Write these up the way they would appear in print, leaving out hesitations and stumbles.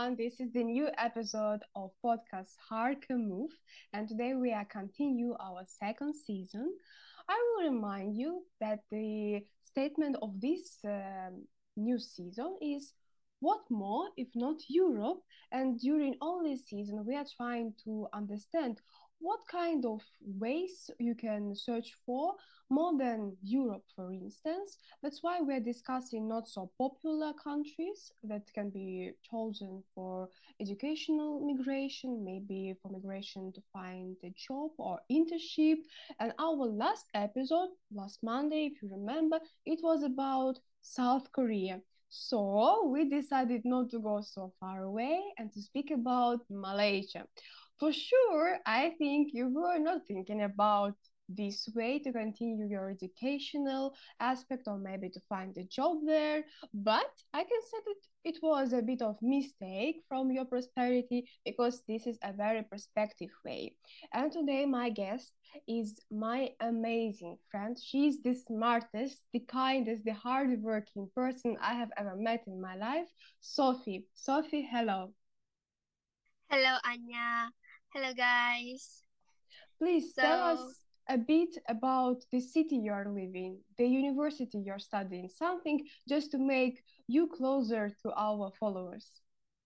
everyone. This is the new episode of podcast Hark and Move, and today we are continue our second season. I will remind you that the statement of this new season is what more if not Europe? And during all this season, we are trying to understand what kind of ways you can search for more than Europe, for instance. That's why we're discussing not so popular countries that can be chosen for educational migration, maybe for migration to find a job or internship. And our last episode, last Monday, if you remember, it was about South Korea. So we decided not to go so far away and to speak about Malaysia. For sure, I think you were not thinking about this way to continue your educational aspect or maybe to find a job there, but I can say that it was a bit of mistake from your prosperity because this is a very perspective way. And today my guest is my amazing friend. She's the smartest, the kindest, the hardworking person I have ever met in my life, Sophie. Sophie, hello. Hello, Anya. Hello, guys. Please tell So, us a bit about the city you're living, the university you're studying, something just to make you closer to our followers.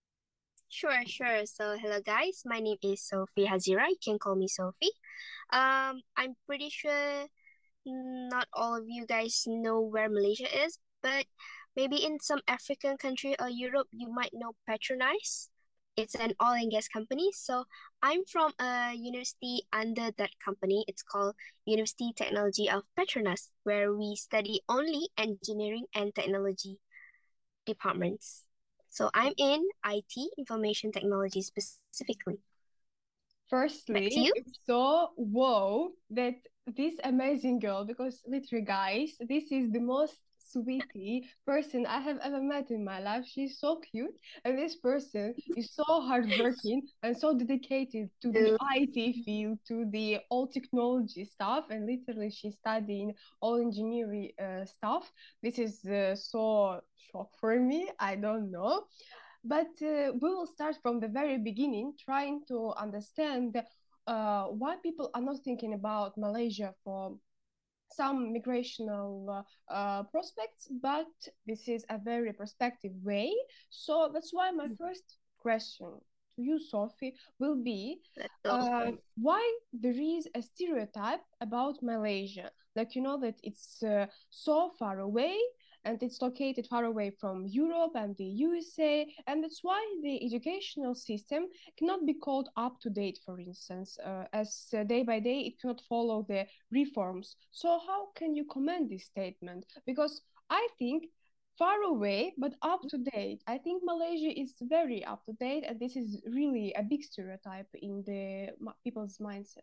sure. So, hello, guys. My name is Sophie Hazira. You can call me Sophie. I'm pretty sure not all of you guys know where Malaysia is, but maybe in some African country or Europe, you might know Petronas. It's an oil and gas company. So, I'm from a university under that company. It's called University Technology of Petronas, where we study only engineering and technology departments. So I'm in IT, information technology specifically. Back to Firstly, you. it's so wow that this amazing girl, because literally, guys, this is the most sweetie person I have ever met in my life. She's so cute, and this person is so hardworking and so dedicated to the Uh, IT field, to the all technology stuff, and literally, she's studying all engineering stuff. This is so shock for me. I don't know. But we will start from the very beginning, trying to understand why people are not thinking about Malaysia for some migrational prospects, but this is a very prospective way. So that's why my first question to you, Sophie, will be let's go. why there is a stereotype about Malaysia. Like, you know, that it's so far away and it's located far away from Europe and the USA, and that's why the educational system cannot be called up to date, for instance, as day by day it cannot follow the reforms. So how can you comment this statement? Because I think far away but up to date. I think Malaysia is very up to date, and this is really a big stereotype in the people's mindset.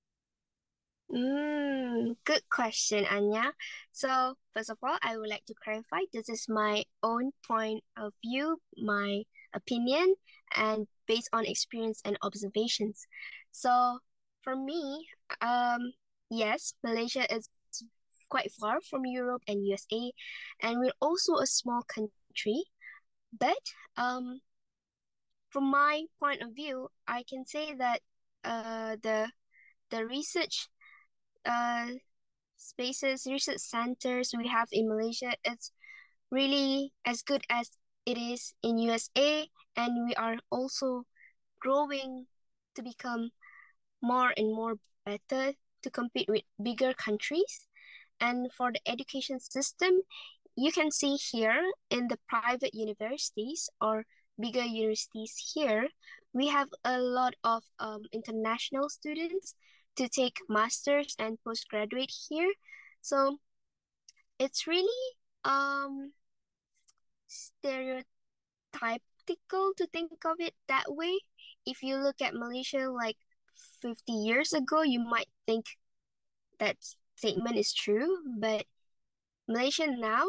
Good question, Anya. So, first of all, I would like to clarify this is my own point of view, my opinion, and based on experience and observations. So, for me, yes, Malaysia is quite far from Europe and USA, and we're also a small country. But from my point of view, I can say that the research uh spaces, research centers we have in Malaysia, it's really as good as it is in USA, and we are also growing to become more and more better to compete with bigger countries. And for the education system, you can see here in the private universities or bigger universities here, we have a lot of international students to take masters and postgraduate here. So it's really um stereotypical to think of it that way. If you look at Malaysia like 50 years ago, you might think that statement is true, but Malaysia now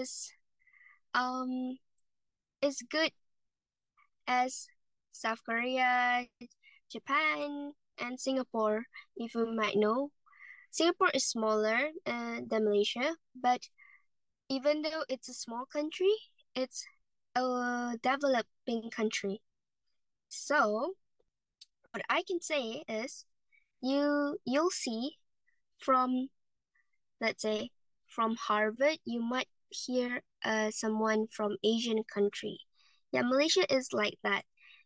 um is good as South Korea, Japan, and Singapore. If you might know, Singapore is smaller than Malaysia, but even though it's a small country, it's a developing country. So what I can say is you'll see from, let's say, from Harvard, you might hear someone from Asian country. Yeah, Malaysia is like that.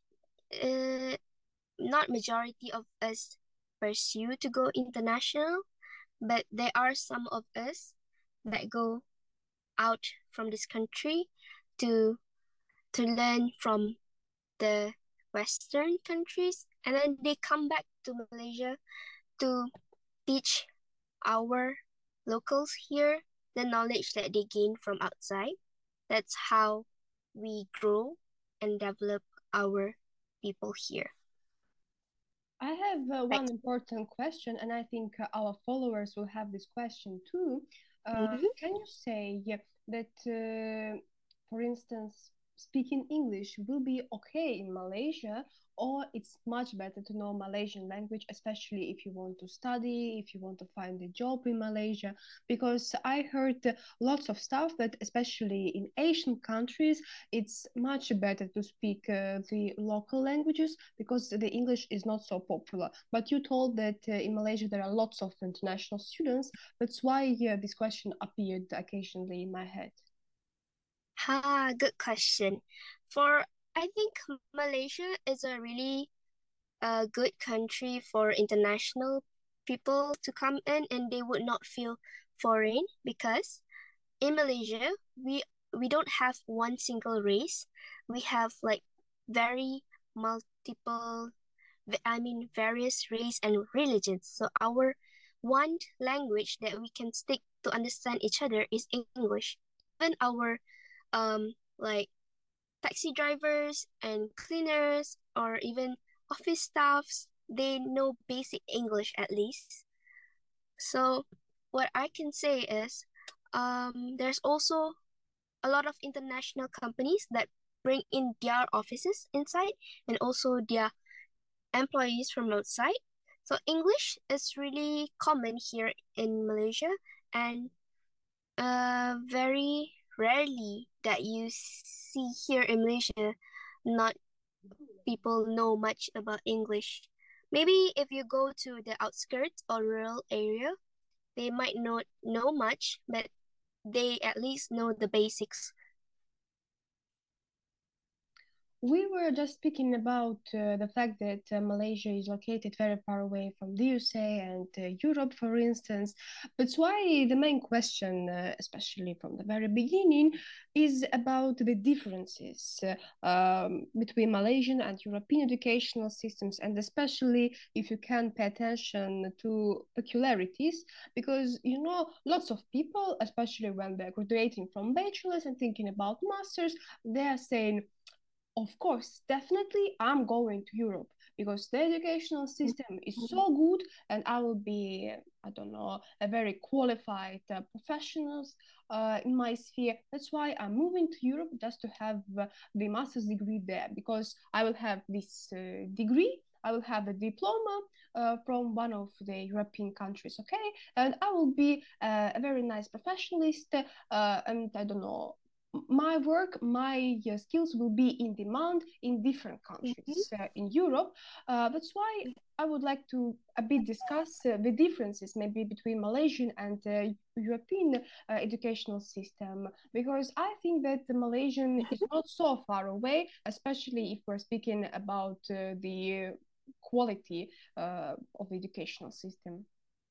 Uh, Not majority of us pursue to go international, but there are some of us that go out from this country to learn from the Western countries, and then they come back to Malaysia to teach our locals here the knowledge that they gain from outside. That's how we grow and develop our people here. I have Right. one important question, and I think our followers will have this question too. Mm-hmm. Can you say that, for instance, speaking English will be okay in Malaysia, or it's much better to know Malaysian language, especially if you want to study, if you want to find a job in Malaysia? Because I heard lots of stuff that, especially in Asian countries, it's much better to speak the local languages because the English is not so popular. But you told that in Malaysia there are lots of international students. That's why this question appeared occasionally in my head. Good question. I think Malaysia is a really good country for international people to come in, and they would not feel foreign because in Malaysia we don't have one single race. We have like very multiple, various race and religions. So our one language that we can stick to understand each other is English. Even our like taxi drivers and cleaners or even office staffs, they know basic English at least. So what I can say is there's also a lot of international companies that bring in their offices inside and also their employees from outside. So English is really common here in Malaysia, and very rarely that you see here in Malaysia not people know much about English. Maybe if you go to the outskirts or rural area, they might not know much, but they at least know the basics. We were just speaking about the fact that Malaysia is located very far away from the USA and Europe, for instance. That's why the main question, especially from the very beginning, is about the differences between Malaysian and European educational systems, and especially if you can pay attention to peculiarities, because you know, lots of people, especially when they're graduating from bachelor's and thinking about masters, they are saying, of course, definitely, I'm going to Europe because the educational system is so good, and I will be, I don't know, a very qualified professionals in my sphere. That's why I'm moving to Europe just to have the master's degree there because I will have this degree. I will have a diploma from one of the European countries, okay? And I will be a very nice professionalist, and I don't know, my work, my skills will be in demand in different Mm-hmm. countries in Europe. That's why I would like to a bit discuss the differences maybe between Malaysian and European educational system, because I think that the Malaysian is not so far away, especially if we're speaking about the quality of the educational system.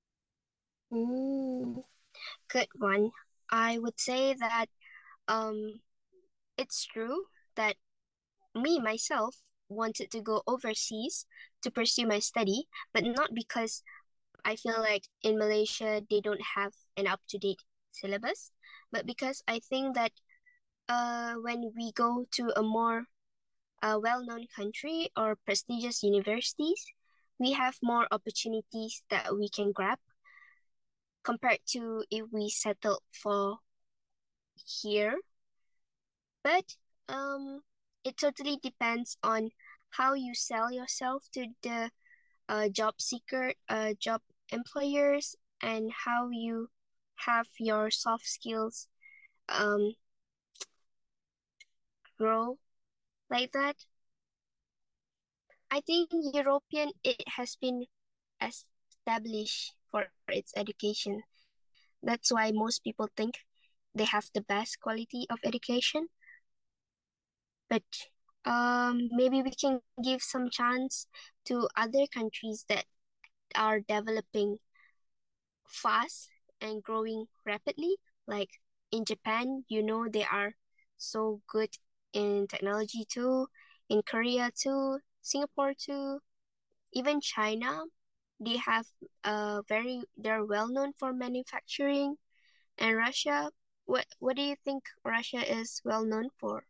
Good one. I would say that um, it's true that me myself wanted to go overseas to pursue my study, but not because I feel like in Malaysia they don't have an up-to-date syllabus, but because I think that when we go to a more well-known country or prestigious universities, we have more opportunities that we can grab compared to if we settle for here. But it totally depends on how you sell yourself to the job seeker, job employers, and how you have your soft skills um, grow like that. I think European, it has been established for its education. That's why most people think they have the best quality of education. But maybe we can give some chance to other countries that are developing fast and growing rapidly. Like in Japan, they are so good in technology too. In Korea too, Singapore too, even China, they're well known for manufacturing. And Russia, what do you think Russia is well known for?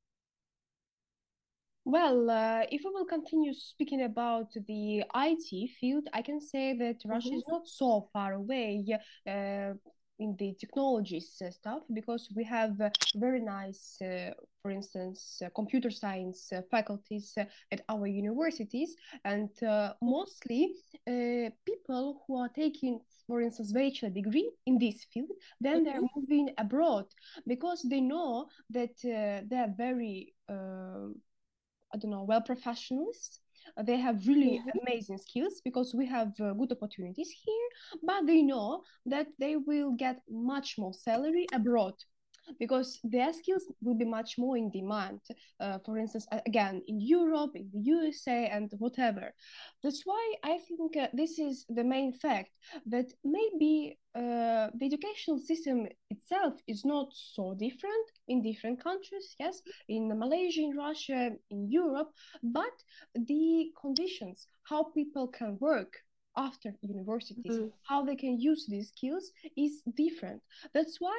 Well, if we will continue speaking about the IT field, I can say that Russia Mm-hmm. is not so far away in the technologies stuff because we have very nice, for instance, computer science faculties at our universities, and mostly people who are taking, for instance, bachelor degree in this field, then they're Mm-hmm. moving abroad because they know that they are very I don't know, well professionals. They have really Mm-hmm. amazing skills because we have good opportunities here, but they know that they will get much more salary abroad because their skills will be much more in demand. For instance, again, in Europe, in the USA, and whatever. That's why I think this is the main fact that maybe the educational system itself is not so different in different countries, yes, in Malaysia, in Russia, in Europe, but the conditions, how people can work after universities, Mm-hmm. how they can use these skills is different. That's why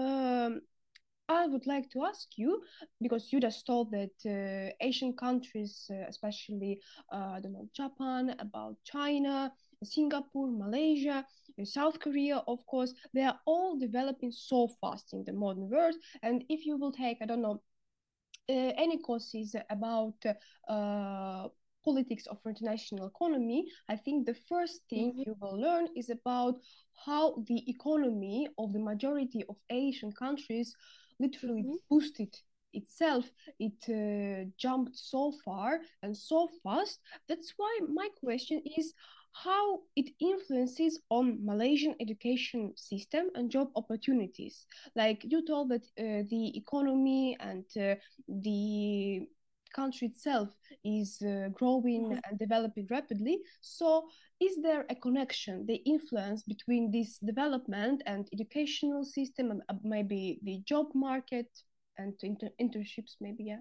I would like to ask you, because you just told that Asian countries, especially, I don't know, Japan, about China, Singapore, Malaysia, South Korea, of course, they are all developing so fast in the modern world. And if you will take, I don't know, any courses about politics of international economy, I think the first thing Mm-hmm. you will learn is about how the economy of the majority of Asian countries literally Mm-hmm. boosted itself. It jumped so far and so fast. That's why my question is how it influences on Malaysian education system and job opportunities. Like you told that the economy and the country itself is growing Mm-hmm. and developing rapidly. So, is there a connection, the influence between this development and educational system, and maybe the job market and internships, maybe? Yeah.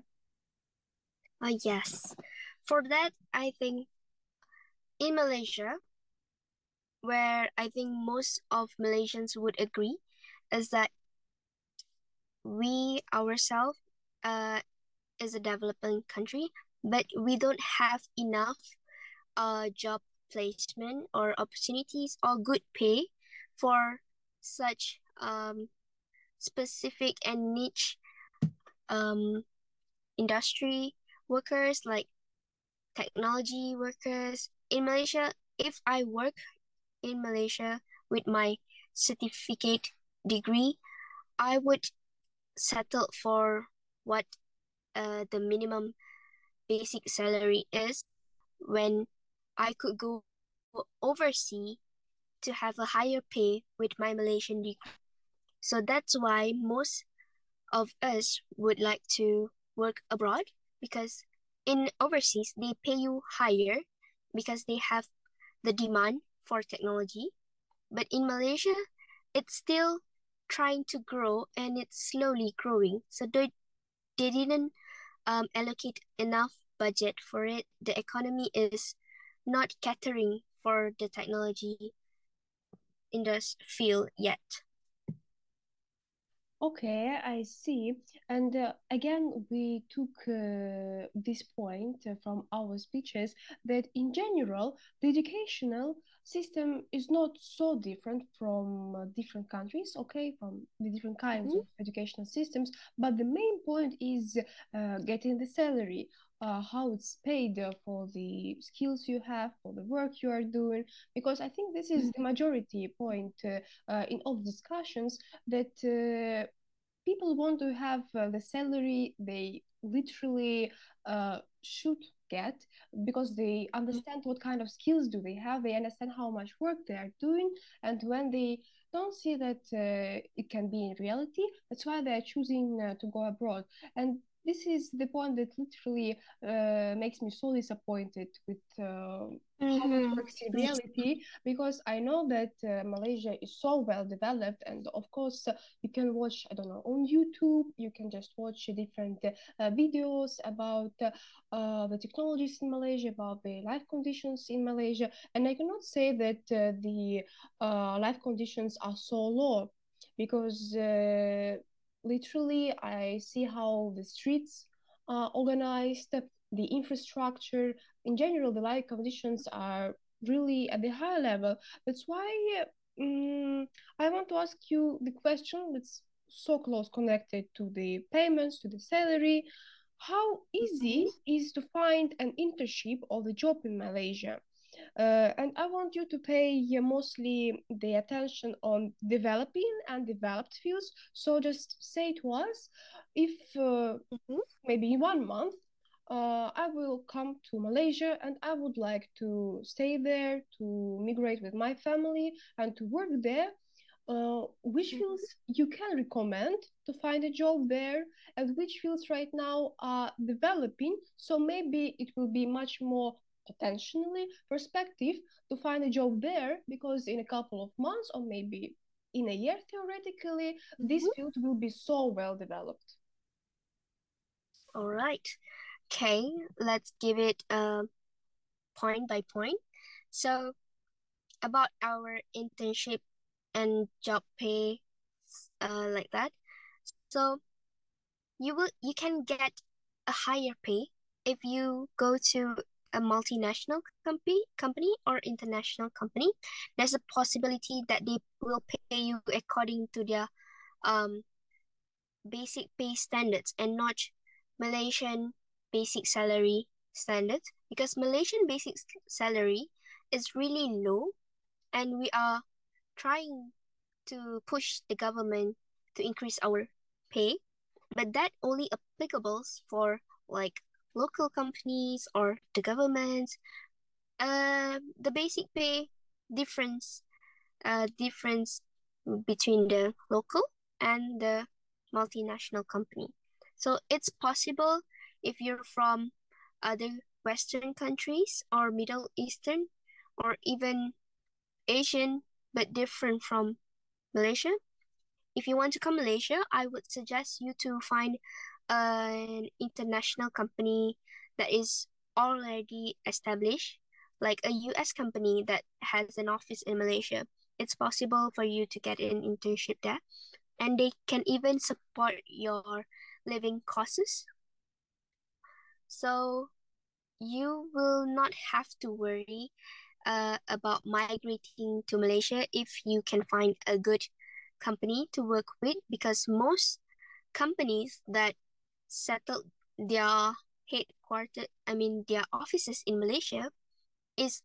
Yes. For that, I think in Malaysia, where I think most of Malaysians would agree, is that we ourselves is a developing country, but we don't have enough job placement or opportunities or good pay for such specific and niche um, industry workers like technology workers. In Malaysia, if I work in Malaysia with my certificate degree, I would settle for what the minimum basic salary is when I could go overseas to have a higher pay with my Malaysian degree. So that's why most of us would like to work abroad because in overseas they pay you higher because they have the demand for technology. But in Malaysia, it's still trying to grow and it's slowly growing. So they didn't allocate enough budget for it. The economy is not catering for the technology industry field yet. Okay, I see. And again, we took this point from our speeches that in general, the educational system is not so different from different countries, okay, from the different kinds Mm-hmm. of educational systems. But the main point is getting the salary, how it's paid for the skills you have, for the work you are doing. Because I think this is the majority point in all discussions that people want to have the salary they literally should get, because they understand what kind of skills do they have, they understand how much work they are doing, and when they don't see that it can be in reality, that's why they're choosing to go abroad. And this is the point that literally makes me so disappointed with how it works in reality, because I know that Malaysia is so well developed, and of course you can watch, I don't know, on YouTube, you can just watch different videos about the technologies in Malaysia, about the life conditions in Malaysia, and I cannot say that the life conditions are so low, because literally I see how the streets are organized, the infrastructure, in general, the life conditions are really at the high level. That's why I want to ask you the question that's so close connected to the payments, to the salary. How easy is to find an internship or the job in Malaysia? And I want you to pay mostly the attention on developing and developed fields. So just say to us if maybe in 1 month I will come to Malaysia and I would like to stay there, to migrate with my family and to work there. Which fields you can recommend to find a job there, and which fields right now are developing? So maybe it will be much more potentially perspective to find a job there, because in a couple of months or maybe in a year, theoretically, this field will be so well developed. All right. Okay, let's give it point by point. So about our internship and job pay, like that. So you can get a higher pay if you go to a multinational company or international company. There's a possibility that they will pay you according to their basic pay standards and not Malaysian basic salary standards, because Malaysian basic salary is really low, and we are trying to push the government to increase our pay, but that only applicable for like local companies or the government. The basic pay difference between the local and the multinational company. So it's possible if you're from other Western countries or Middle Eastern or even Asian but different from Malaysia. If you want to come Malaysia, I would suggest you to find an international company that is already established, like a US company that has an office in Malaysia. It's possible for you to get an internship there, and they can even support your living costs. So you will not have to worry about migrating to Malaysia if you can find a good company to work with, because most companies that settled their their offices in Malaysia is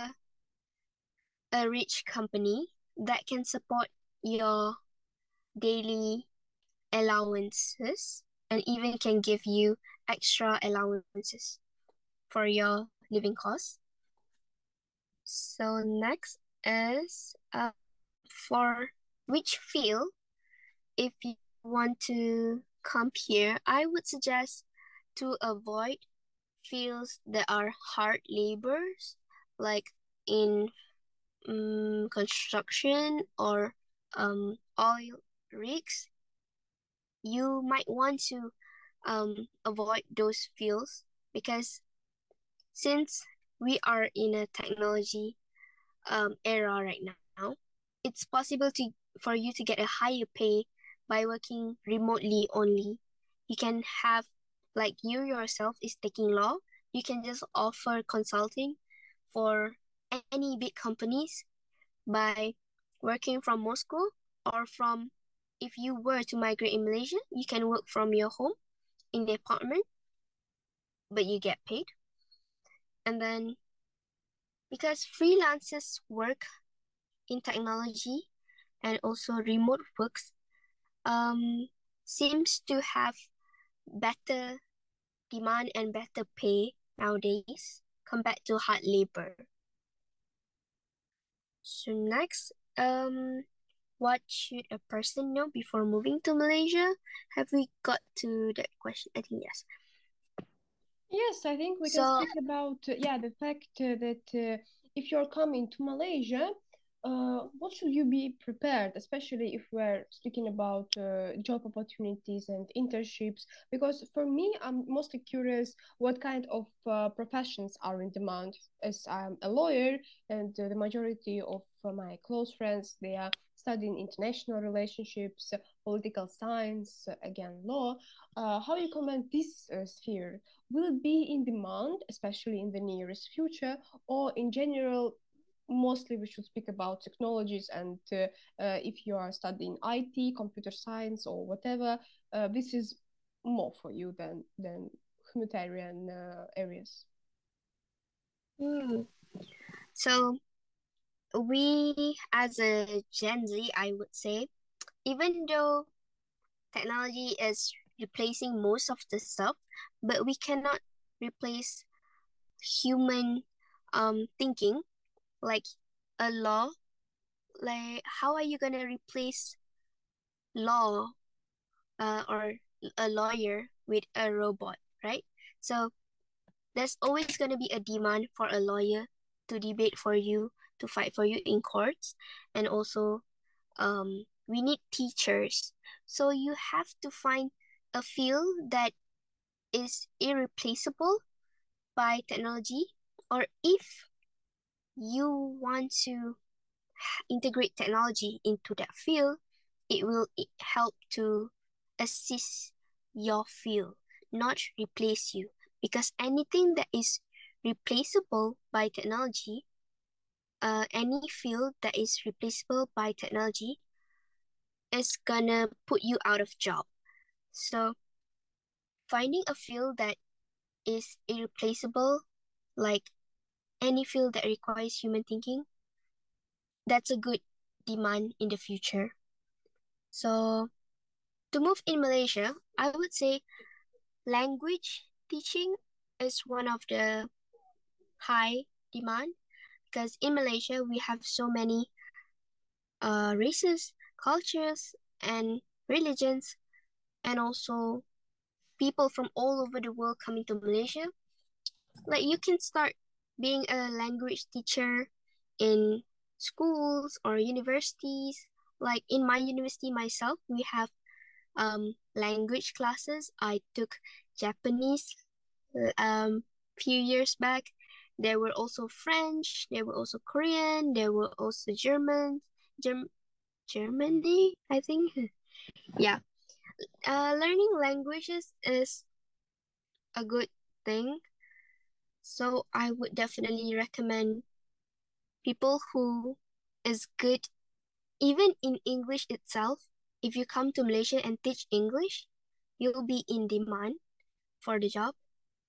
a rich company that can support your daily allowances and even can give you extra allowances for your living costs. So next is for which field, if you want to come here, I would suggest to avoid fields that are hard labors, like in construction or oil rigs. You might want to avoid those fields, because since we are in a technology era right now, it's possible for you to get a higher pay by working remotely only. You can have, like you yourself is taking law, you can just offer consulting for any big companies by working from Moscow, or from, if you were to migrate in Malaysia, you can work from your home in the apartment, but you get paid. And then because freelancers work in technology and also remote works seems to have better demand and better pay nowadays compared to hard labor. So next, what should a person know before moving to Malaysia? Have we got to that question? I think yes. Yes, I think we can So speak about the fact that if you're coming to Malaysia, what should you be prepared, especially if we're speaking about job opportunities and internships? Because for me, I'm mostly curious what kind of professions are in demand. As I'm a lawyer, and the majority of my close friends, they are studying international relationships, political science, again law. How you comment this sphere? Will it be in demand, especially in the nearest future, or in general, mostly we should speak about technologies and if you are studying IT, computer science, or whatever, this is more for you than humanitarian areas. so we as a Gen Z, I would say, even though technology is replacing most of the stuff, but we cannot replace human thinking, like a law. Like how are you gonna replace law or a lawyer with a robot, right? So there's always gonna be a demand for a lawyer to debate for you, to fight for you in courts, and also we need teachers. So you have to find a field that is irreplaceable by technology, or if you want to integrate technology into that field, it will help to assist your field, not replace you. Because anything that is replaceable by technology, any field that is replaceable by technology is gonna put you out of job. So finding a field that is irreplaceable, like any field that requires human thinking, that's a good demand in the future. So to move in Malaysia, I would say language teaching is one of the high demand, because in Malaysia we have so many races, cultures, and religions, and also people from all over the world coming to Malaysia. Like you can start being a language teacher in schools or universities. Like in my university myself, we have language classes. I took Japanese few years back. There were also French, there were also Korean, there were also Germany, I think. Yeah. Learning languages is a good thing. So I would definitely recommend people who is good even in English itself. If you come to Malaysia and teach English, you'll be in demand for the job.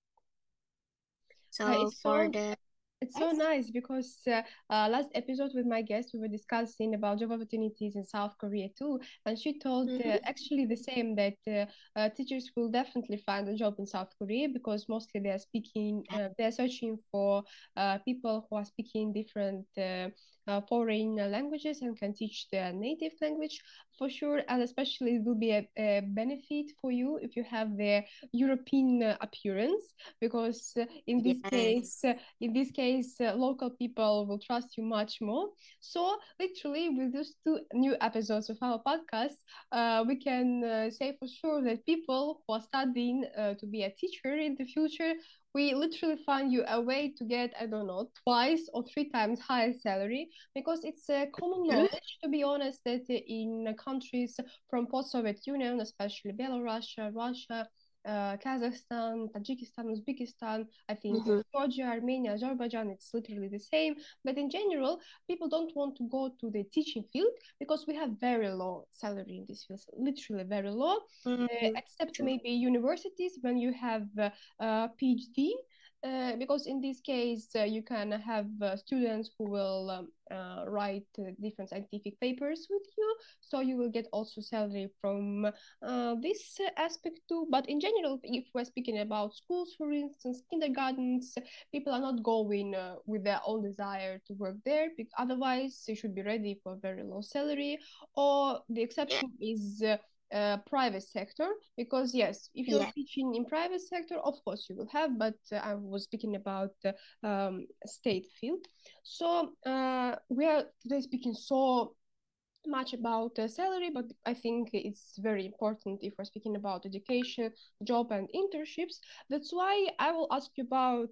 So It's for so the it's so nice because last episode with my guest, we were discussing about job opportunities in South Korea too, and she told actually the same that teachers will definitely find a job in South Korea because mostly they are speaking, they are searching for people who are speaking different foreign languages and can teach their native language for sure, and especially it will be a benefit for you if you have the European appearance because yes. in this case, local people will trust you much more. So, literally, with these two new episodes of our podcast, we can say for sure that people who are studying to be a teacher in the future, we literally find you a way to get, I don't know, twice or three times higher salary because it's a common knowledge, to be honest, that in countries from post-Soviet Union, especially Belarus, Russia, Kazakhstan, Tajikistan, Uzbekistan, I think Georgia, Armenia, Azerbaijan, it's literally the same. But in general, people don't want to go to the teaching field because we have very low salary in this field, literally very low, except True. maybe universities when you have PhD. because in this case you can have students who will write different scientific papers with you, so you will get also salary from this aspect too. But in general, if we're speaking about schools, for instance, kindergartens, people are not going with their own desire to work there, otherwise they should be ready for very low salary. Or the Yeah. exception is private sector, because yes, if you're Yeah. teaching in private sector, of course you will have, but I was speaking about state field. So we are today speaking so much about salary, but I think it's very important if we're speaking about education, job, and internships. That's why I will ask you about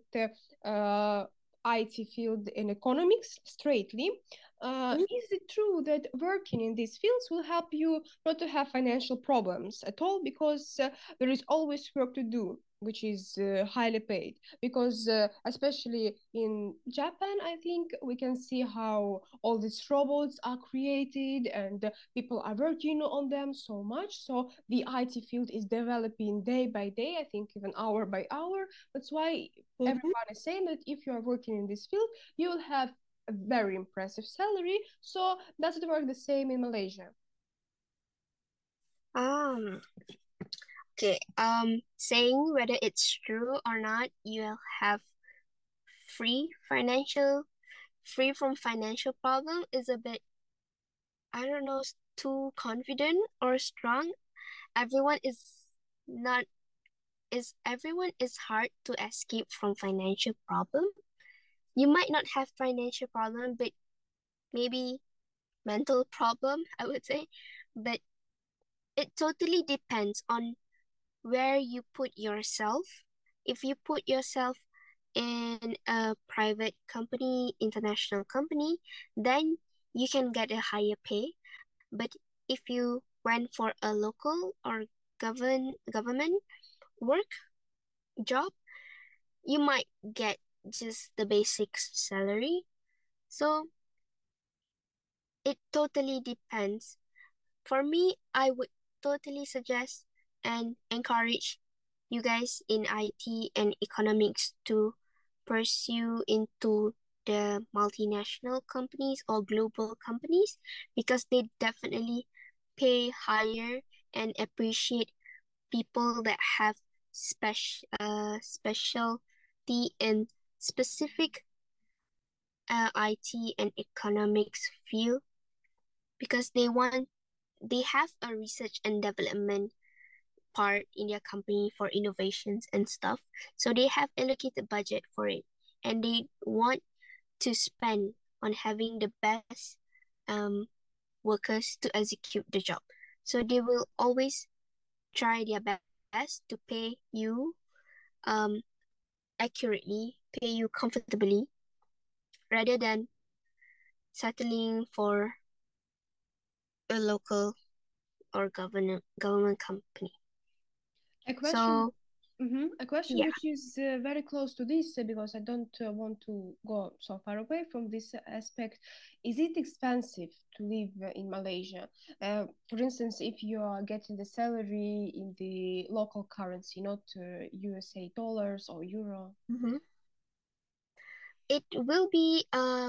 IT field in economics straightly. Is it true that working in these fields will help you not to have financial problems at all? Because there is always work to do, which is highly paid. Because especially in Japan, I think we can see how all these robots are created and people are working on them so much. So the IT field is developing day by day, I think even hour by hour. That's why Mm-hmm. everyone is saying that if you are working in this field, you will have a very impressive salary. So does it work the same in Malaysia? Um, okay. Saying whether it's true or not, you'll have free financial, free from financial problem is a bit, I don't know, too confident or strong. Everyone is not, everyone is hard to escape from financial problem. You might not have financial problem, but maybe mental problem, I would say. But it totally depends on where you put yourself. If you put yourself in a private company, international company, then you can get a higher pay. But if you went for a local or government work job, you might get just the basic salary. So it totally depends. For me, I would totally suggest and encourage you guys in IT and economics to pursue into the multinational companies or global companies, because they definitely pay higher and appreciate people that have specialty in specific IT and economics field, because they have a research and development part in their company for innovations and stuff. So they have allocated budget for it, and they want to spend on having the best workers to execute the job. So they will always try their best to pay you accurately, pay you comfortably, rather than settling for a local or government company. A question. So A question yeah. which is very close to this, because I don't want to go so far away from this aspect. Is it expensive to live in Malaysia? For instance, if you are getting the salary in the local currency, not USA dollars or euro. Mm-hmm. It will be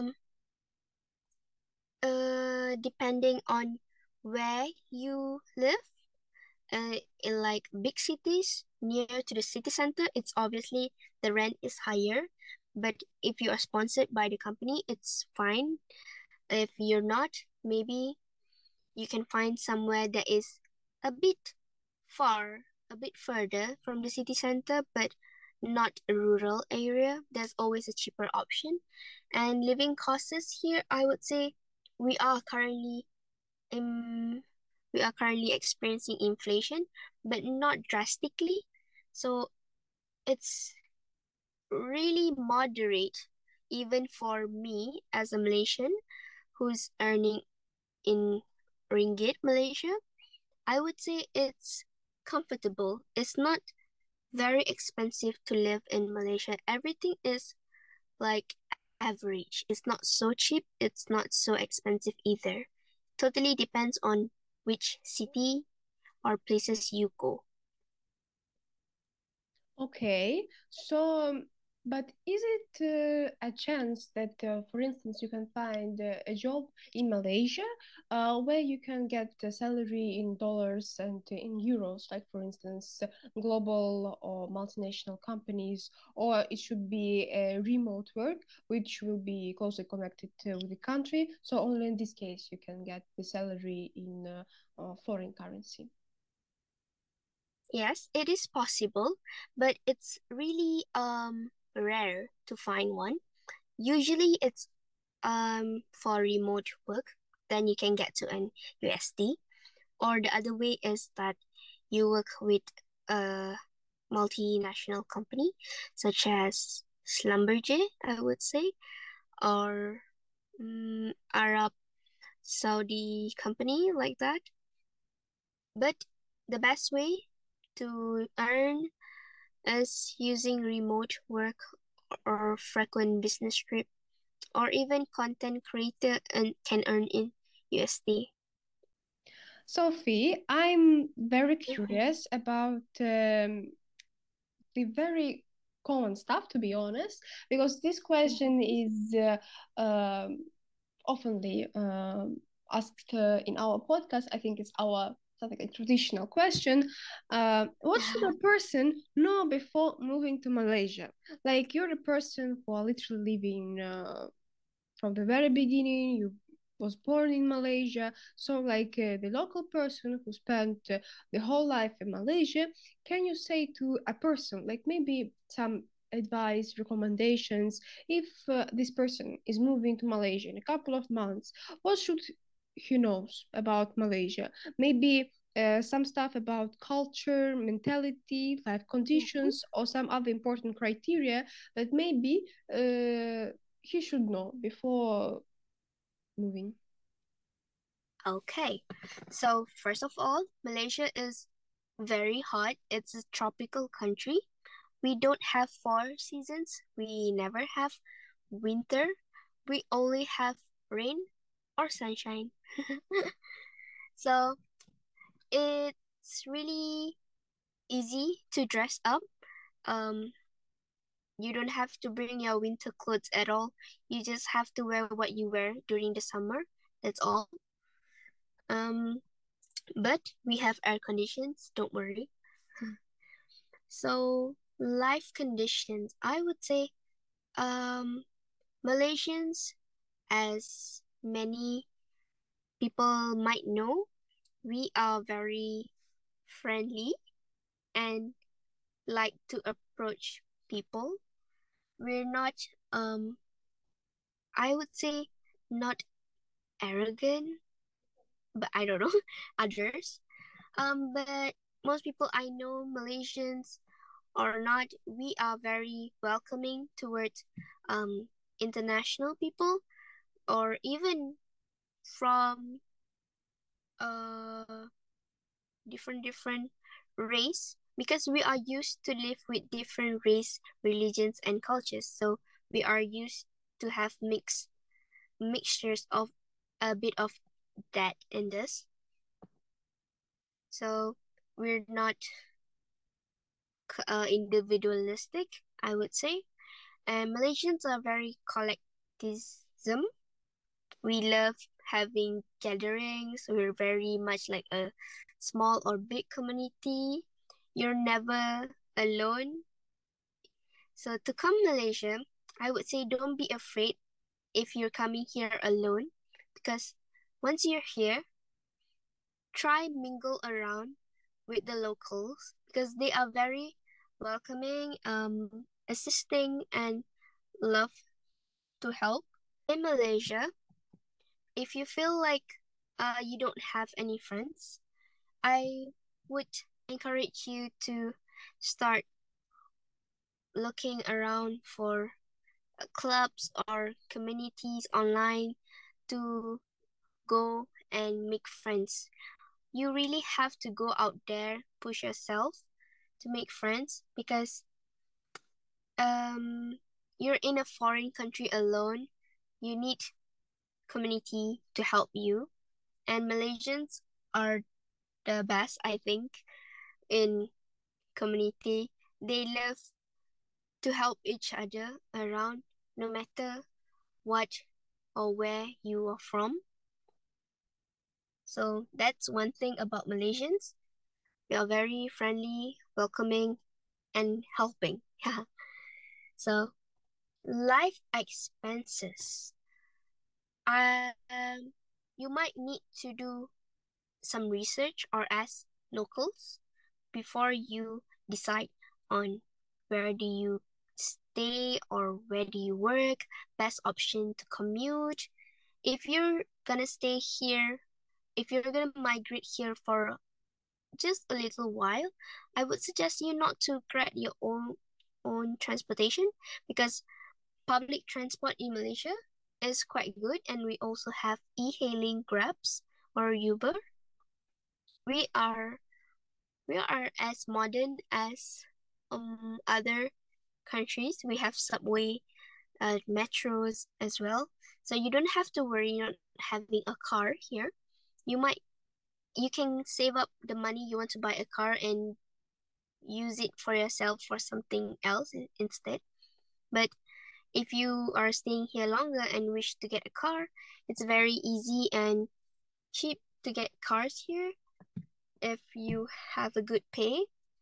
depending on where you live. In like big cities near to the city center, it's obviously the rent is higher. But if you are sponsored by the company, it's fine. If you're not, maybe you can find somewhere that is a bit far, a bit further from the city center, but not a rural area. There's always a cheaper option. And living costs here, I would say we are currently um we are currently experiencing inflation, but not drastically. So it's really moderate, even for me as a Malaysian who's earning in ringgit Malaysia. I would say it's comfortable. It's not very expensive to live in Malaysia. Everything is like average. It's not so cheap, it's not so expensive either. Totally depends on which city or places you go. Okay, so But is it a chance that, for instance, you can find a job in Malaysia where you can get a salary in dollars and in euros, like, for instance, global or multinational companies, or it should be a remote work, which will be closely connected with the country. So only in this case you can get the salary in foreign currency. Yes, it is possible, but it's really rare to find one. Usually it's for remote work, then you can get to an USD. Or the other way is that you work with a multinational company such as Schlumberger, I would say, or Arab Saudi company like that. But the best way to earn is using remote work or frequent business trip, or even content creator and can earn in USD. Sophie, I'm very curious about the very common stuff, to be honest, because this question is oftenly asked in our podcast. I think it's our something like a traditional question. What should a person know before moving to Malaysia? Like, you're the person who are literally living from the very beginning. You was born in Malaysia, so like the local person who spent the whole life in Malaysia, can you say to a person like maybe some advice, recommendations, if this person is moving to Malaysia in a couple of months, what should he knows about Malaysia? Maybe some stuff about culture, mentality, life conditions, or some other important criteria that maybe he should know before moving. Okay, so first of all, Malaysia is very hot. It's a tropical country. We don't have 4 seasons. We never have winter. We only have rain or sunshine. So it's really easy to dress up. Um, you don't have to bring your winter clothes at all. You just have to wear what you wear during the summer. That's all. Um, but we have air conditions. Don't worry. So life conditions, I would say, Malaysians, as many people might know, we are very friendly and like to approach people. We're not, I would say, not arrogant, but I don't know others. But most people I know, Malaysians or not, we are very welcoming towards international people, or even from uh different race, because we are used to live with different race, religions, and cultures. So we are used to have mixtures of a bit of that in this. So we're not individualistic, I would say. And Malaysians are very collectivism. We love having gatherings. We're very much like a small or big community. You're never alone. So to come Malaysia, I would say don't be afraid if you're coming here alone, because once you're here, try mingle around with the locals because they are very welcoming, assisting, and love to help. In Malaysia, if you feel like you don't have any friends, I would encourage you to start looking around for clubs or communities online to go and make friends. You really have to go out there, push yourself to make friends, because you're in a foreign country alone. You need community to help you. And Malaysians are the best, I think, in community. They love to help each other around, no matter what or where you are from. So that's one thing about Malaysians. We are very friendly, welcoming, and helping. So life expenses. You might need to do some research or ask locals before you decide on where do you stay or where do you work, best option to commute. If you're gonna stay here, if you're gonna migrate here for just a little while, I would suggest you not to create your own transportation, because public transport in Malaysia is quite good, and we also have e-hailing Grabs or Uber. We are as modern as other countries. We have subway, metros as well. So you don't have to worry not having a car here. You can save up the money you want to buy a car and use it for yourself for something else instead. But if you are staying here longer and wish to get a car, it's very easy and cheap to get cars here if you have a good pay.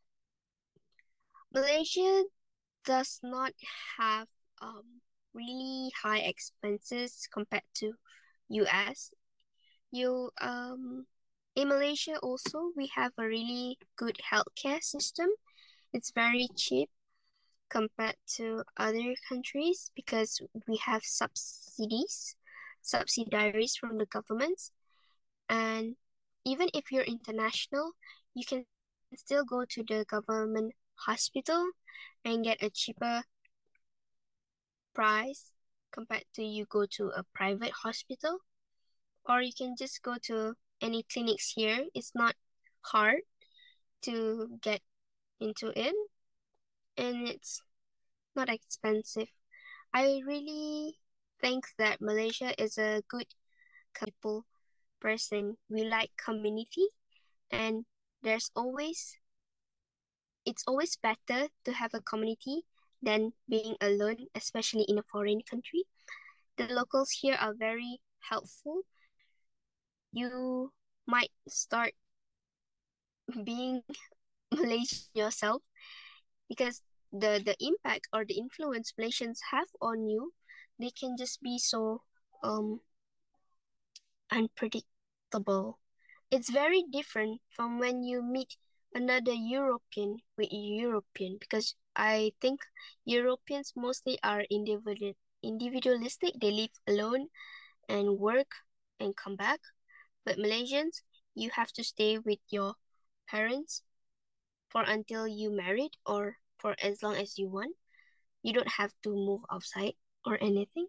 Malaysia does not have really high expenses compared to US. In Malaysia also, we have a really good healthcare system. It's very cheap compared to other countries because we have subsidiaries from the governments. And even if you're international, you can still go to the government hospital and get a cheaper price compared to you go to a private hospital. Or you can just go to any clinics here. It's not hard to get into it, and it's not expensive. I really think that Malaysia is a good people person. We like community, and it's always better to have a community than being alone, especially in a foreign country. The locals here are very helpful. You might start being Malaysian yourself, because the impact or the influence Malaysians have on you, they can just be so unpredictable. It's very different from when you meet another European with European, because I think Europeans mostly are individualistic. They live alone and work and come back. But Malaysians, you have to stay with your parents for until you married or for as long as you want. You don't have to move outside or anything.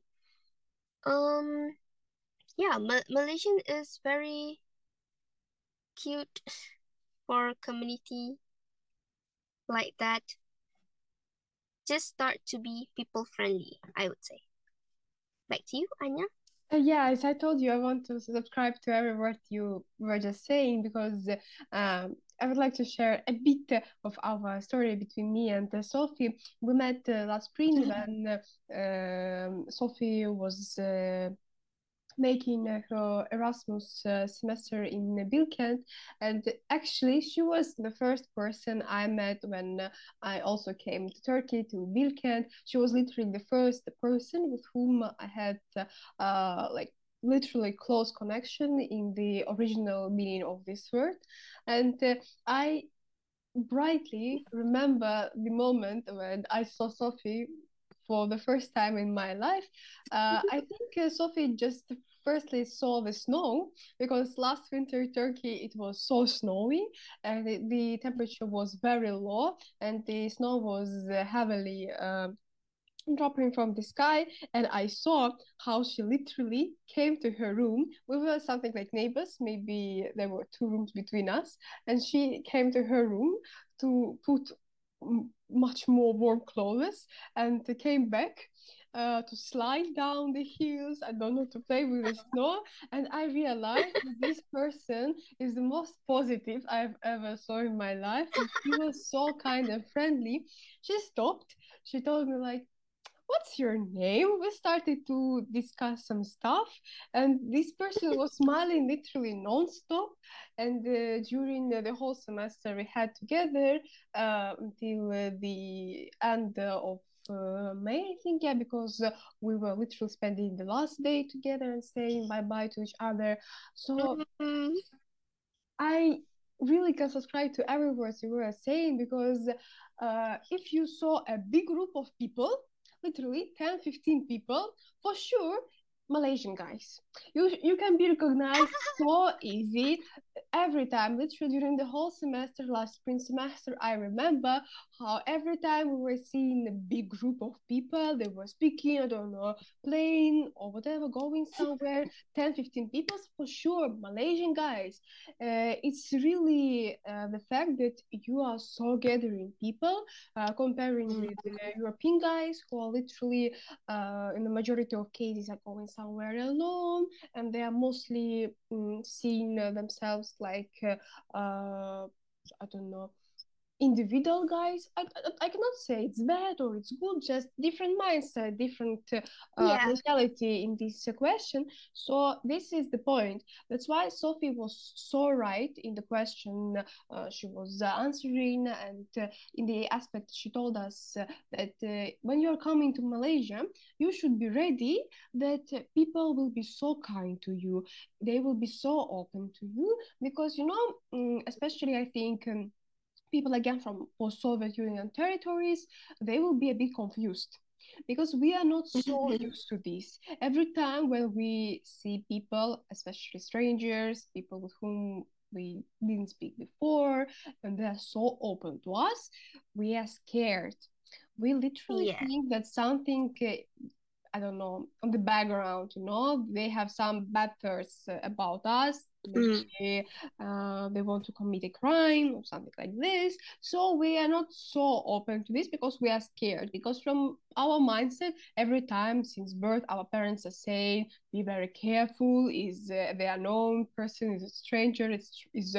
Yeah, Malaysian is very cute for community like that. Just start to be people friendly, I would say. Back to you, Anya. Yeah, as I told you, I want to subscribe to every word you were just saying, because I would like to share a bit of our story between me and Sophie. We met last spring when Sophie was making her Erasmus semester in Bilkent, and actually she was the first person I met when I also came to Turkey to Bilkent. She was literally the first person with whom I had like literally close connection in the original meaning of this word, and I brightly remember the moment when I saw Sophie for the first time in my life. I think Sophie just firstly saw the snow, because last winter in Turkey it was so snowy and the temperature was very low and the snow was heavily dropping from the sky, and I saw how she literally came to her room. We were something like neighbors, maybe there were two rooms between us, and she came to her room to put much more warm clothes and came back to slide down the hills. I don't know, to play with the snow. And I realized that this person is the most positive I've ever saw in my life. And she was so kind and friendly. She stopped. She told me like, what's your name? We started to discuss some stuff, and this person was smiling literally non-stop. And during the whole semester we had together until the end of May, I think, yeah, because we were literally spending the last day together and saying bye bye to each other. So I really can subscribe to every word you were saying, because if you saw a big group of people, literally 10, 15 people, for sure, Malaysian guys. You can be recognized so easy every time, literally during the whole semester, last spring semester. I remember how every time we were seeing a big group of people, they were speaking, I don't know, playing or whatever, going somewhere, 10, 15 people, for sure, Malaysian guys. It's really the fact that you are so gathering people, comparing with European guys who are literally, in the majority of cases, are going somewhere alone, and they are mostly seeing themselves like, I don't know, individual guys. I cannot say it's bad or it's good, just different mindset, different Yeah. mentality in this question. So this is the point. That's why Sophie was so right in the question she was answering, and in the aspect she told us that when you're coming to Malaysia, you should be ready that people will be so kind to you, they will be so open to you, because especially I think people again from post-Soviet Union territories, they will be a bit confused because we are not so used to this. Every time when we see people, especially strangers, people with whom we didn't speak before, and they're so open to us, we are scared. We literally Yeah. think that something, I don't know, on the background, they have some bad thoughts about us. Maybe they want to commit a crime or something like this. So we are not so open to this because we are scared. Because from our mindset, every time since birth, our parents are saying, be very careful. Is the unknown person, is a stranger, is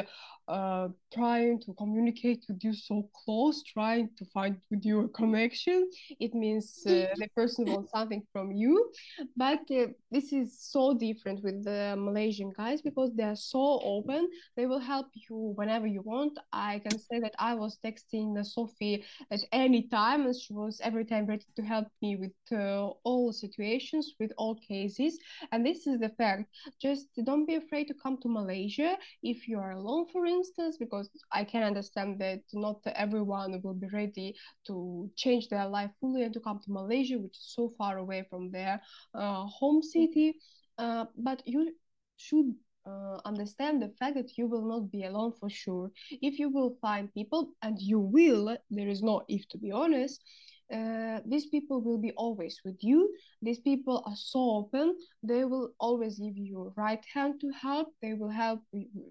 trying to communicate with you so close, trying to find with you a connection. It means the person wants something from you. But this is so different with the Malaysian guys because they are so open. They will help you whenever you want. I can say that I was texting Sophie at any time, and she was every time ready to help me with all situations, with all cases. And this is the fact. Just don't be afraid to come to Malaysia if you are alone, for instance, because I can understand that not everyone will be ready to change their life fully and to come to Malaysia, which is so far away from their home city. But you should understand the fact that you will not be alone for sure. If you will find people, and you will, there is no if, to be honest, these people will be always with you. These people are so open. They will always give you right hand to help. They will help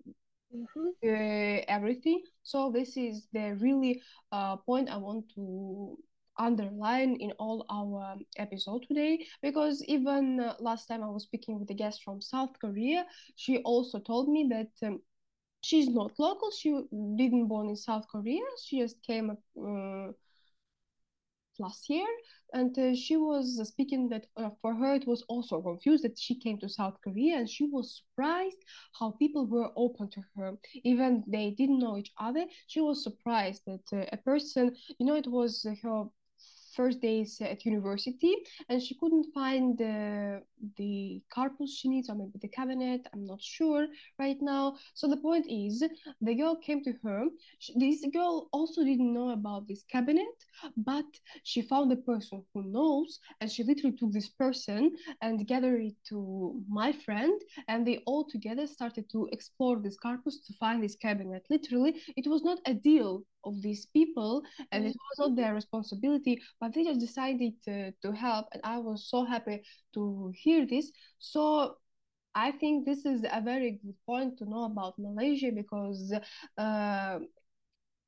everything. So this is the really point I want to underline in all our episode today, because even last time I was speaking with a guest from South Korea, she also told me that she's not local, she didn't born in South Korea, she just came last year, and she was speaking that for her it was also confused that she came to South Korea, and she was surprised how people were open to her even they didn't know each other. She was surprised that a person, it was her first days at university, and she couldn't find the corpus she needs, or maybe the cabinet, I'm not sure right now. So the point is, the girl came to her. This girl also didn't know about this cabinet, but she found a person who knows, and she literally took this person and gathered it to my friend, and they all together started to explore this corpus to find this cabinet. Literally, it was not a deal of these people, and it was not their responsibility, but they just decided to help, and I was so happy to hear this. So I think this is a very good point to know about Malaysia, because uh,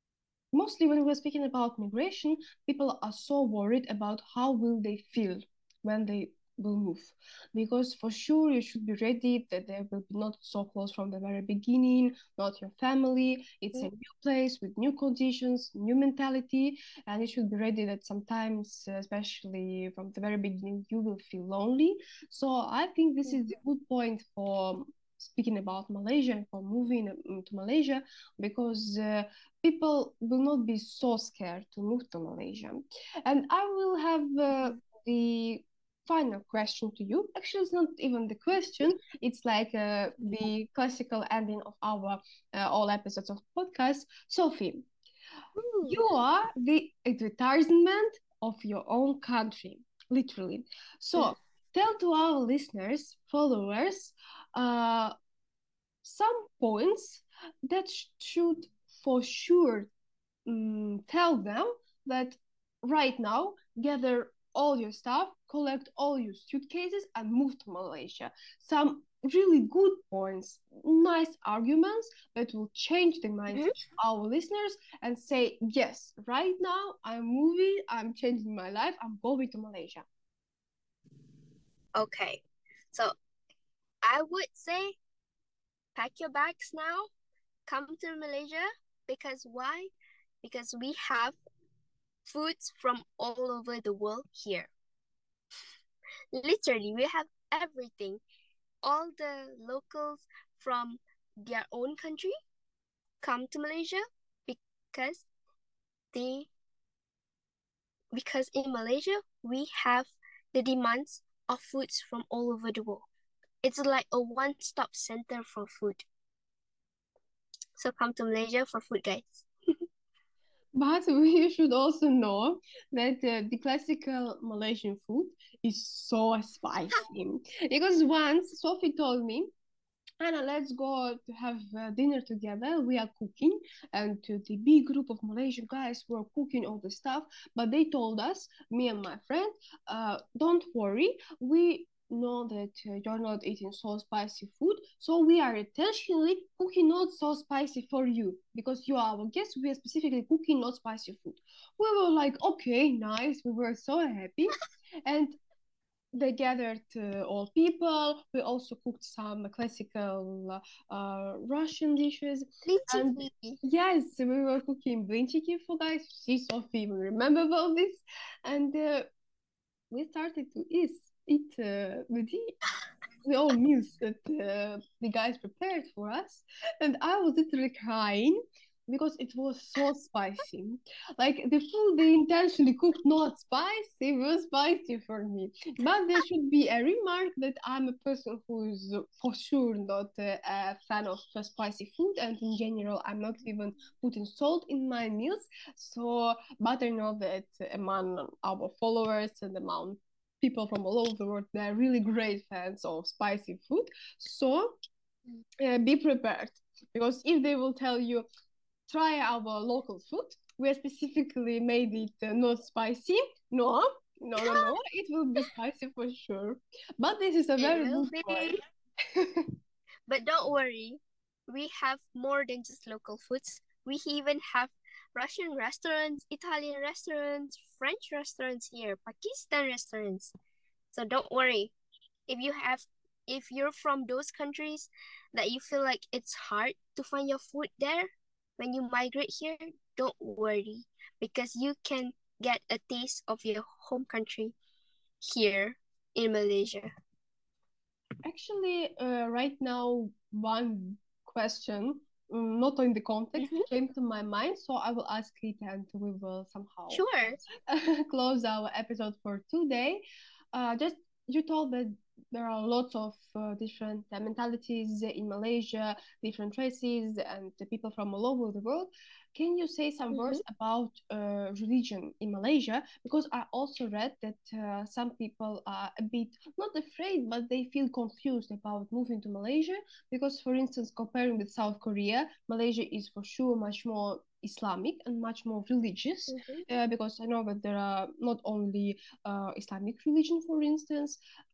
mostly when we're speaking about migration, people are so worried about how will they feel when they will move, because for sure you should be ready that they will be not so close from the very beginning, not your family. It's a new place with new conditions, new mentality, and you should be ready that sometimes, especially from the very beginning, you will feel lonely. So I think this is a good point for speaking about Malaysia and for moving to Malaysia, because people will not be so scared to move to Malaysia. And I will have the final question to you. Actually, it's not even the question. It's like the classical ending of our all episodes of podcast. Sophie, you are the advertisement of your own country, literally. So tell to our listeners, followers, some points that should for sure tell them that right now gather all your stuff, collect all your suitcases, and move to Malaysia. Some really good points, nice arguments that will change the mindset of our listeners and say, yes, right now I'm moving, I'm changing my life, I'm going to Malaysia. Okay, so I would say pack your bags now, come to Malaysia. Because why? Because we have foods from all over the world here. Literally, we have everything. All the locals from their own country come to Malaysia because in Malaysia we have the demands of foods from all over the world. It's like a one-stop center for food. So come to Malaysia for food, guys. But we should also know that the classical Malaysian food is so spicy. Because once Sophie told me, Anna, let's go to have dinner together. We are cooking, and the big group of Malaysian guys were cooking all the stuff. But they told us, me and my friend, don't worry, we know that you're not eating so spicy food, so we are intentionally cooking not so spicy for you because you are our guest. We are specifically cooking not spicy food. We were like, okay, nice. We were so happy, and they gathered all people. We also cooked some classical Russian dishes. And yes, we were cooking blinchiki for guys. See, Sophie, we remember about this. And we started to eat the all meals that the guys prepared for us. And I was literally crying because it was so spicy. Like the food they intentionally cooked not spicy, was spicy for me. But there should be a remark that I'm a person who is for sure not a fan of spicy food, and in general, I'm not even putting salt in my meals. So, but I know that among our followers and among people from all over the world, they're really great fans of spicy food. So, be prepared, because if they will tell you try our local food. We specifically made it not spicy. No, it will be spicy for sure. But this is a very good point. But don't worry, we have more than just local foods. We even have Russian restaurants, Italian restaurants, French restaurants here, Pakistan restaurants. So don't worry. If you're from those countries that you feel like it's hard to find your food there, when you migrate here, don't worry, because you can get a taste of your home country here in Malaysia. Actually, right now, one question, not in the context, came to my mind, so I will ask it and we will somehow close our episode for today. Just you told that there are lots of different mentalities in Malaysia, different races, and the people from all over the world. Can you say some words about religion in Malaysia? Because I also read that some people are a bit not afraid, but they feel confused about moving to Malaysia. Because, for instance, comparing with South Korea, Malaysia is for sure much more Islamic and much more religious. Because I know that there are not only Islamic religion, for instance.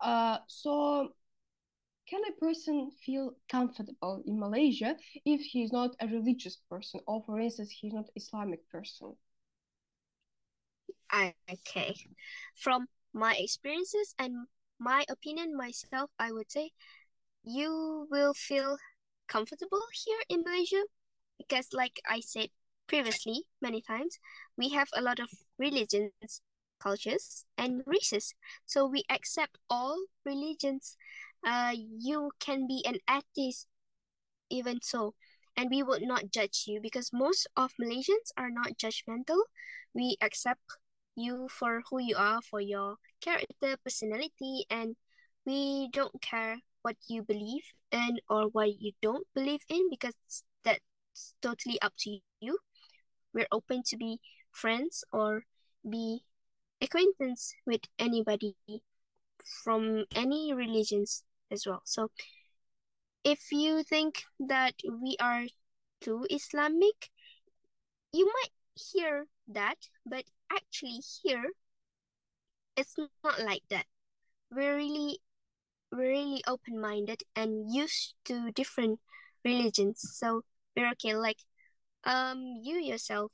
So can a person feel comfortable in Malaysia if he's not a religious person, or for instance, he's not Islamic person? Okay. From my experiences and my opinion myself, I would say you will feel comfortable here in Malaysia because, like I said previously many times, we have a lot of religions, cultures, and races. So we accept all religions. You can be an atheist even so, and we would not judge you because most of Malaysians are not judgmental. We accept you for who you are, for your character, personality, and we don't care what you believe in or what you don't believe in because that's totally up to you. We're open to be friends or be acquaintance with anybody from any religions as well. So if you think that we are too Islamic, you might hear that, but actually here it's not like that. We're really we're really open-minded and used to different religions. So we're okay. Like you yourself,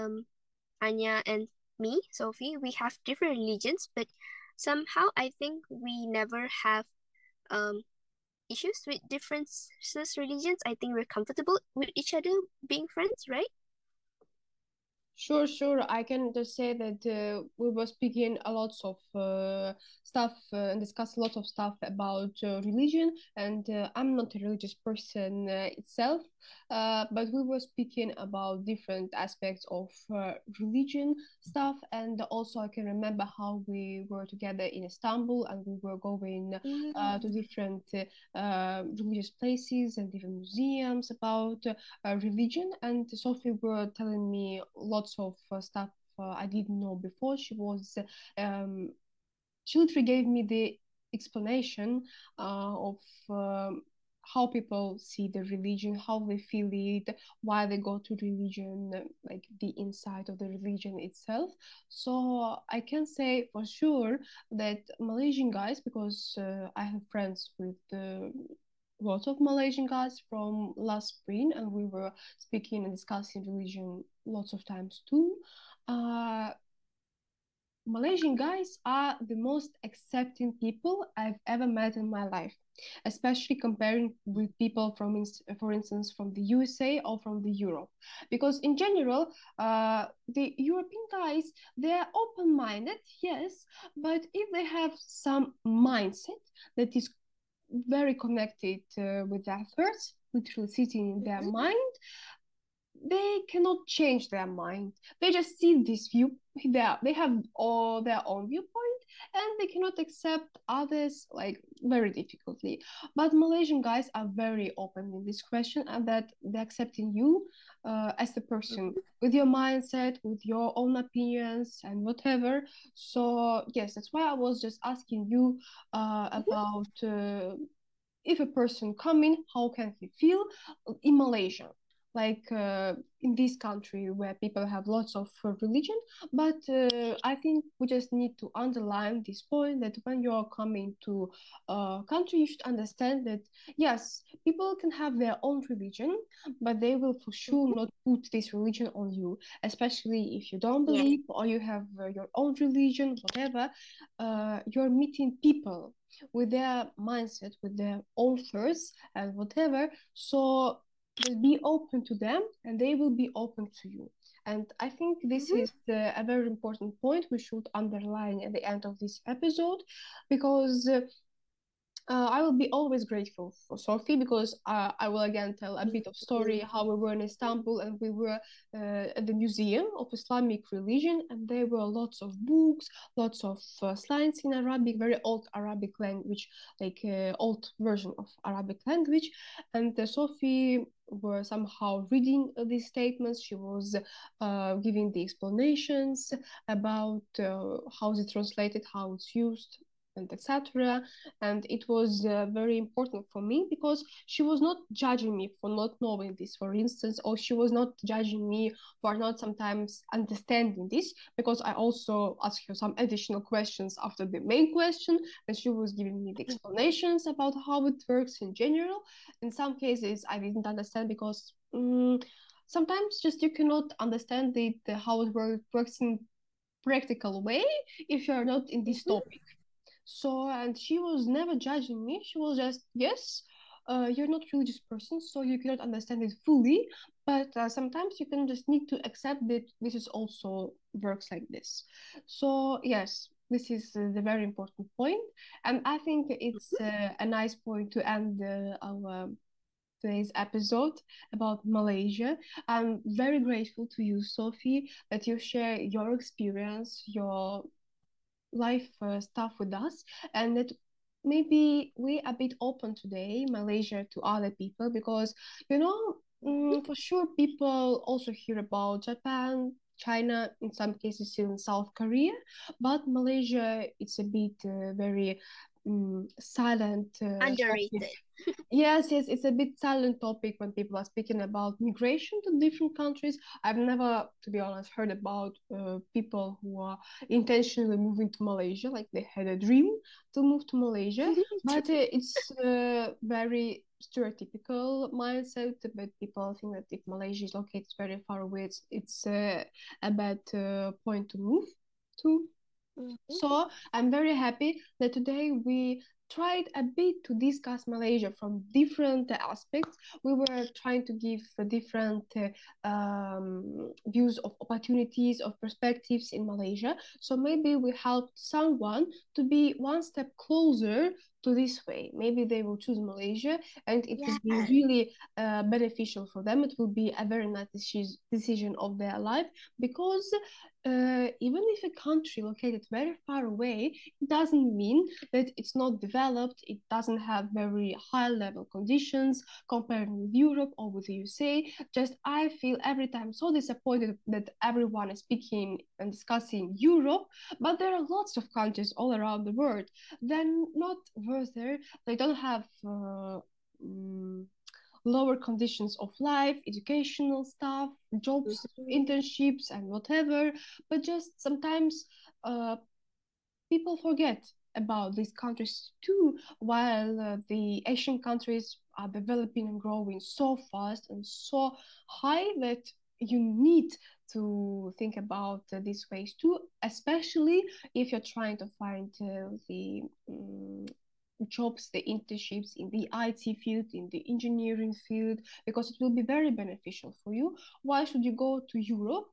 Anya and me, Sophie, we have different religions, but somehow I think we never have um issues with different religions. I think we're comfortable with each other being friends, right? Sure, sure. I can just say that we were speaking a lot of stuff and discuss a lot of stuff about religion, and I'm not a religious person itself, but we were speaking about different aspects of religion stuff, and also I can remember how we were together in Istanbul and we were going to different religious places and different museums about religion. And Sophie were telling me lots of stuff I didn't know before. Um, she literally gave me the explanation of how people see the religion, how they feel it, why they go to religion, like the inside of the religion itself. So I can say for sure that Malaysian guys, because I have friends with lots of Malaysian guys from last spring, and we were speaking and discussing religion lots of times too. Uh, Malaysian guys are the most accepting people I've ever met in my life, especially comparing with people from, for instance, from the USA or from the Europe. Because in general, the European guys, they're open-minded, yes, but if they have some mindset that is very connected with their thoughts, literally sitting in their mind, they cannot change their mind. They just see this view. They have all their own viewpoint, and they cannot accept others like very difficultly. But Malaysian guys are very open in this question, and that they're accepting you as the person with your mindset, with your own opinions, and whatever. So yes, that's why I was just asking you about. If a person coming, how can he feel in Malaysia? Like in this country where people have lots of religion, but I think we just need to underline this point that when you're coming to a country, you should understand that yes, people can have their own religion, but they will for sure not put this religion on you, especially if you don't Yeah. believe or you have your own religion, whatever. You're meeting people with their mindset, with their own thoughts and whatever. So just be open to them and they will be open to you. And I think this is a very important point we should underline at the end of this episode, because I will be always grateful for Sophie, because I will again tell a bit of story how we were in Istanbul and we were at the Museum of Islamic Religion, and there were lots of books, lots of slides in Arabic, very old Arabic language, like old version of Arabic language. And Sophie were somehow reading these statements. She was giving the explanations about how it's translated, how it's used, and etc. And it was very important for me because she was not judging me for not knowing this, for instance, or she was not judging me for not sometimes understanding this, because I also asked her some additional questions after the main question, and she was giving me the explanations about how it works in general. In some cases I didn't understand because sometimes just you cannot understand how it works in practical way if you're not in this topic. So, and she was never judging me. She was just, yes, you're not religious person, so you cannot understand it fully. But sometimes you can just need to accept that this is also works like this. So yes, this is the very important point, and I think it's a nice point to end our today's episode about Malaysia. I'm very grateful to you, Sophie, that you share your experience, your life stuff with us, and that maybe we a bit open today Malaysia to other people, because you know, for sure people also hear about Japan, China, in some cases even South Korea, but Malaysia, it's a bit very silent topic. Underrated. Yes, yes, it's a bit silent topic when people are speaking about migration to different countries. I've never, to be honest, heard about people who are intentionally moving to Malaysia, like they had a dream to move to Malaysia. But it's a very stereotypical mindset. But people think that if Malaysia is located very far away, it's a bad point to move to. So I'm very happy that today we tried a bit to discuss Malaysia from different aspects. We were trying to give different views of opportunities, of perspectives in Malaysia. So maybe we helped someone to be one step closer to this way. Maybe they will choose Malaysia, and it will be Yeah. really beneficial for them. It will be a very nice decision of their life, because even if a country located very far away, it doesn't mean that it's not developed. It doesn't have very high level conditions compared with Europe or with the USA. Just I feel every time so disappointed that everyone is speaking and discussing Europe, but there are lots of countries all around the world. Then not worse there. They don't have lower conditions of life, educational stuff, jobs, internships, and whatever. But just sometimes people forget about these countries too, while the Asian countries are developing and growing so fast and so high that you need to think about these ways too, especially if you're trying to find the jobs, the internships in the IT field, in the engineering field, because it will be very beneficial for you. Why should you go to Europe?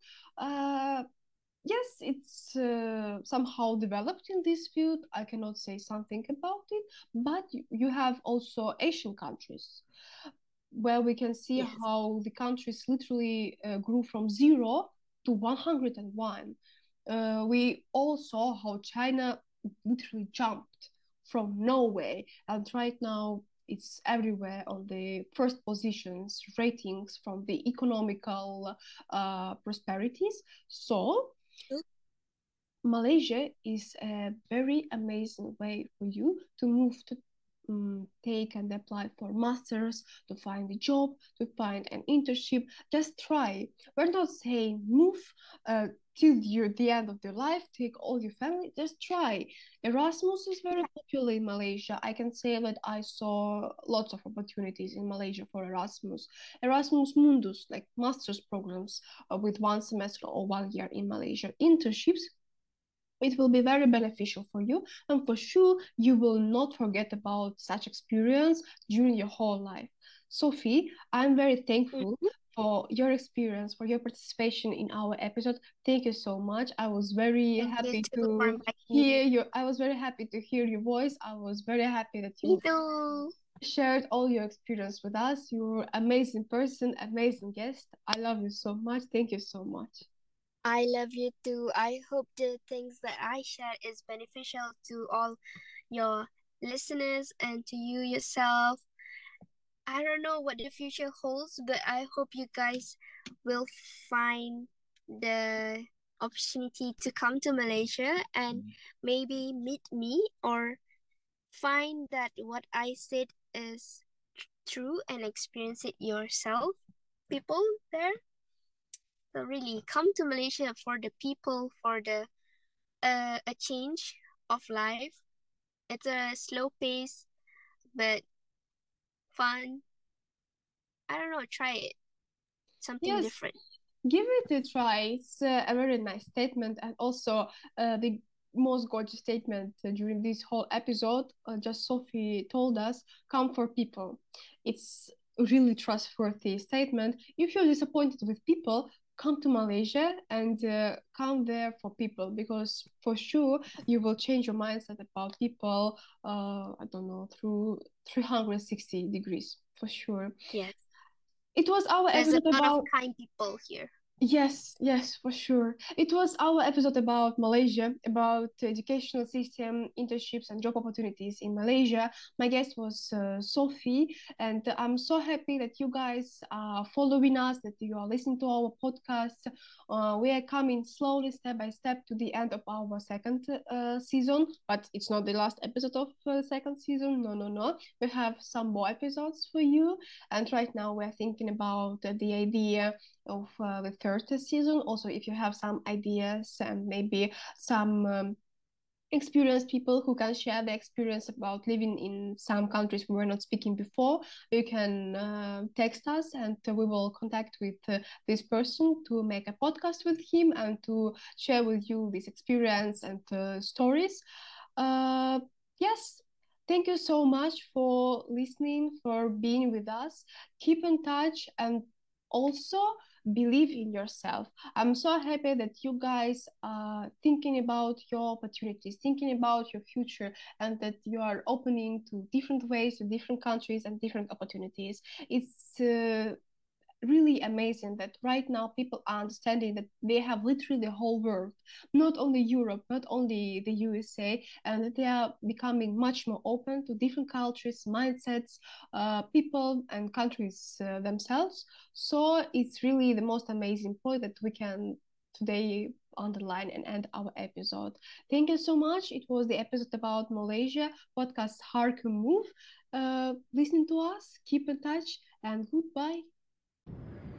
Yes, it's somehow developed in this field. I cannot say something about it, but you have also Asian countries where we can see Yes. how the countries literally grew from 0 to 101. We all saw how China literally jumped from nowhere, and right now it's everywhere on the first positions ratings from the economical prosperities. So Malaysia is a very amazing way for you to move to take and apply for masters, to find a job, to find an internship. Just try. We're not saying move till the end of your life, take all your family. Just try. Erasmus is very popular in Malaysia. I can say that I saw lots of opportunities in Malaysia for Erasmus. Erasmus Mundus, like master's programs with 1 semester or 1 year in Malaysia. Internships, it will be very beneficial for you, and for sure you will not forget about such experience during your whole life. Sophie, I'm very thankful for your experience, for your participation in our episode. Thank you so much. I was very Thank you happy too for to inviting hear me. you. I was very happy to hear your voice. I was very happy that Me you too. shared all your experience with us. You're an amazing person, amazing guest. I love you so much. Thank you so much. I love you too. I hope the things that I share is beneficial to all your listeners and to you yourself. I don't know what the future holds, but I hope you guys will find the opportunity to come to Malaysia and maybe meet me or find that what I said is true and experience it yourself. People there. So really come to Malaysia for the people, for the a change of life. It's a slow pace but fun. I don't know, try it. Something Yes, different. give it a try. It's a very nice statement, and also the most gorgeous statement during this whole episode. Just Sophie told us, "Come for people." It's really trustworthy statement. If you're disappointed with people, come to Malaysia and come there for people, because for sure you will change your mindset about people. I don't know, through 360 degrees for sure. Yes. It was our There's a episode lot of about. kind people here. Yes, yes, for sure. It was our episode about Malaysia, about educational system, internships, and job opportunities in Malaysia. My guest was Sophie, and I'm so happy that you guys are following us, that you are listening to our podcast. We are coming slowly, step by step, to the end of our second season, but it's not the last episode of second season. No, no, no. We have some more episodes for you, and right now we're thinking about the idea of the third season. Also, if you have some ideas and maybe some experienced people who can share the experience about living in some countries we were not speaking before, you can text us, and we will contact with this person to make a podcast with him and to share with you this experience and stories. Yes, thank you so much for listening, for being with us. Keep in touch, and also believe in yourself. I'm so happy that you guys are thinking about your opportunities, thinking about your future, and that you are opening to different ways, to different countries, and different opportunities. It's really amazing that right now people are understanding that they have literally the whole world, not only Europe, not only the USA, and that they are becoming much more open to different cultures, mindsets, people, and countries themselves. So it's really the most amazing point that we can today underline and end our episode. Thank you so much. It was the episode about Malaysia podcast Harker Move. Listen to us, keep in touch, and goodbye.